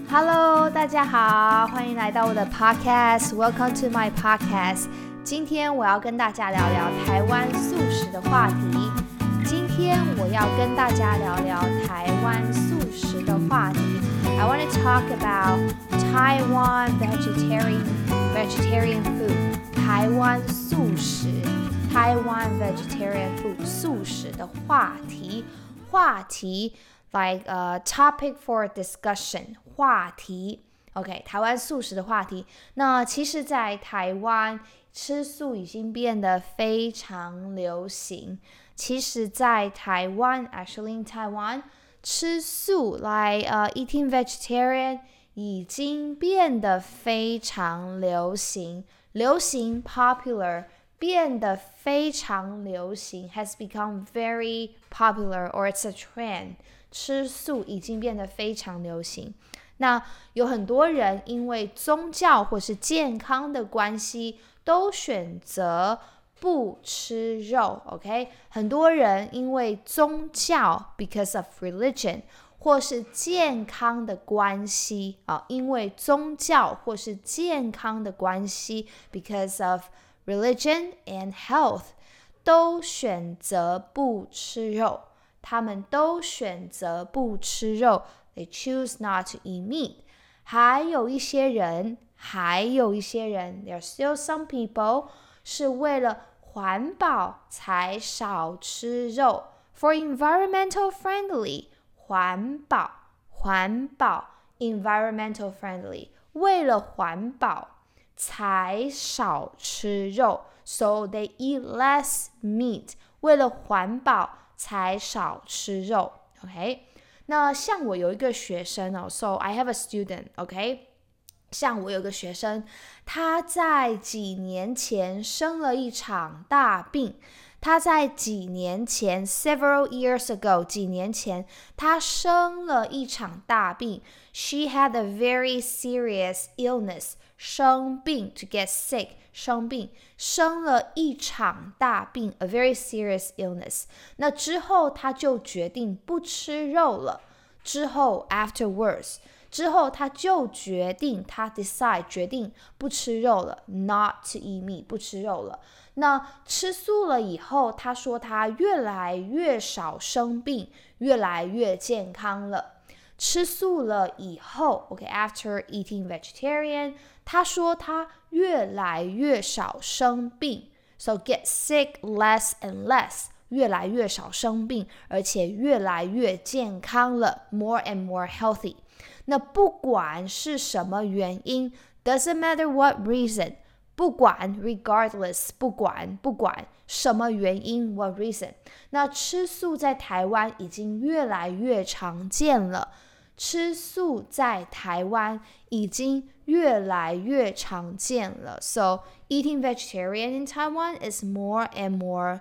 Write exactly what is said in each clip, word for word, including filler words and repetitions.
Hello， 大家好，歡迎來到我的 podcast。Welcome to my podcast。今天我要跟大家聊聊台灣素食的話題。今天我要跟大家聊聊台灣素食的話題。I want to talk about Taiwan vegetarian vegetarian food。台灣素食，台灣 vegetarian food 素食的話題，話題。Like a topic for discussion 話題 OK 台灣素食的話題。那其實在台灣吃素已經變得非常流行。其實在台灣 actually in Taiwan 吃素 like、uh, eating vegetarian 已經變得非常流行。流行 popular 變得非常流行 has become very popular or it's a trend。吃素已經變得非常流行。那有很多人因為宗教或是健康的關係，都選擇不吃肉 OK 很多人因為宗教 because of religion 或是健康的關係、啊、因為宗教或是健康的關係 because of religion and health 都選擇不吃肉。他們都選擇不吃肉 They choose not to eat meat。 還有一些人還有一些人 There are still some people 是為了環保才少吃肉 For environmental friendly 環保環保 environmental friendly 為了環保才少吃肉 So they eat less meat 為了環保才少吃肉 OK 那像我有一個學生哦 So I have a student OK 像我有個學生他在幾年前生了一場大病他在幾年前 several years ago 幾年前他生了一場大病 She had a very serious illness 生病 to get sick 生病生了一場大病 a very serious illness 那之後他就決定不吃肉了之後 afterwards 之後他就決定他 decide 決定不吃肉了 not to eat meat 不吃肉了那吃素了以後他說他越來越少生病越來越健康了吃素了以後 OK after eating vegetarian 他說他越來越少生病 So get sick less and less 越來越少生病而且越來越健康了 More and more healthy 那不管是什麼原因 Doesn't matter what reason 不管 regardless 不管不管什麼原因 What reason 那吃素在台灣已經越來越常見了吃素在台灣已經越來越常見了 So eating vegetarian in Taiwan is more and more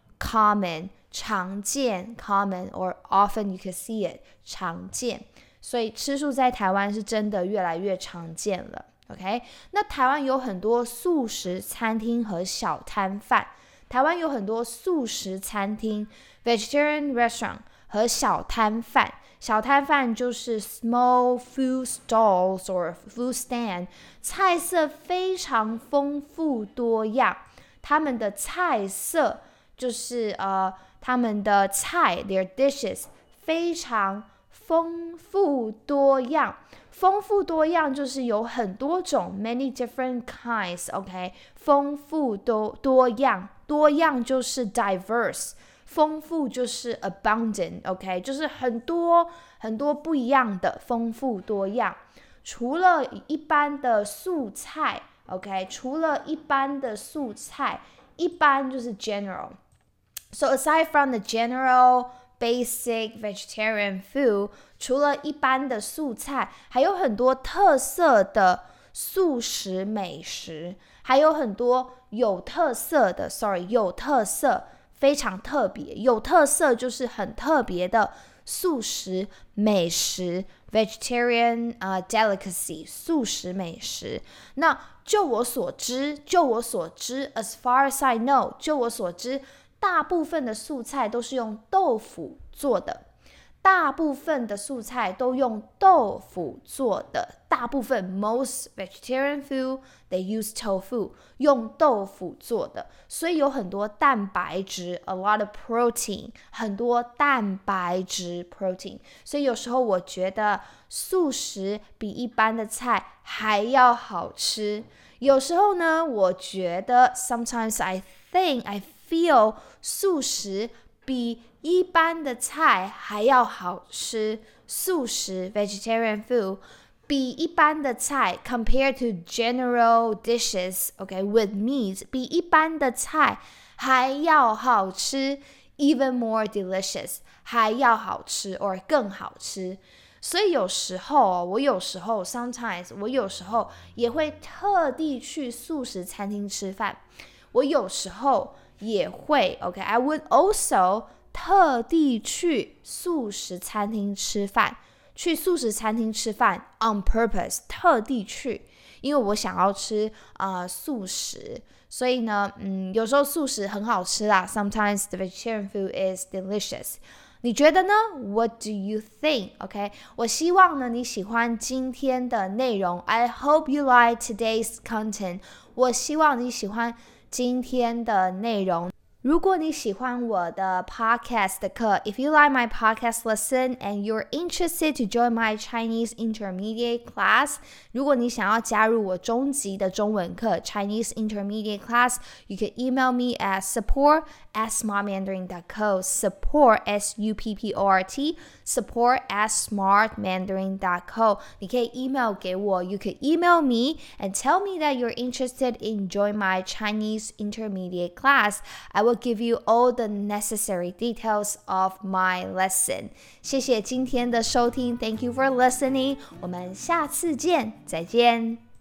common 常見 common or often you can see it 常見所以吃素在台灣是真的越來越常見了 OK 那台灣有很多素食餐廳和小攤販台灣有很多素食餐廳 vegetarian restaurant 和小攤販小攤販就是 small food stalls or food stand 菜色非常豐富多樣他們的菜色就是呃他們的菜 their dishes 非常豐富多樣豐富多樣就是有很多種 many different kinds OK 豐富多多樣多樣就是 diverse豐富就是 abundant OK 就是很多很多不一樣的豐富多樣除了一般的素菜 OK 除了一般的素菜一般就是 general So aside from the general basic vegetarian food 除了一般的素菜還有很多特色的素食美食還有很多有特色的 sorry 有特色非常特別有特色就是很特別的素食美食 vegetarian、uh, delicacy 素食美食那就我所知就我所知 as far as I know 就我所知大部分的素菜都是用豆腐做的大部分的素菜都用豆腐做的，大部分 most vegetarian food they use tofu 用豆腐做的，所以有很多蛋白質 a lot of protein 很多蛋白質 protein， 所以有時候我覺得素食比一般的菜還要好吃。有時候呢，我覺得 sometimes I think I feel 素食比一般的菜還要好吃，素食 vegetarian food 比一般的菜 compared to general dishes okay with meat 比一般的菜還要好吃 even more delicious 還要好吃 or 更好吃。所以有時候我有時候 sometimes 我有時候也會特地去素食餐廳吃飯，我有時候也會 okay I would also特地去素食餐廳吃飯，去素食餐廳吃飯 on purpose 特地去，因為我想要吃、呃、素食，所以呢，嗯，有時候素食很好吃啦 sometimes the vegetarian food is delicious。你覺得呢？ What do you think? OK， 我希望呢你喜歡今天的內容。I hope you like today's content。我希望你喜歡今天的內容。如果你喜歡我的 podcast 的課 If you like my podcast lesson and you're interested to join my Chinese intermediate class 如果你想要加入我中級的中文課 Chinese intermediate class You can email me at support at smart mandarin dot co support S U P P O R T support at smart mandarin dot co 你可以 email 給我 You can email me and tell me that you're interested in join my Chinese intermediate class I will give you all the necessary details of my lesson 謝謝今天的收聽 Thank you for listening 我們下次見再見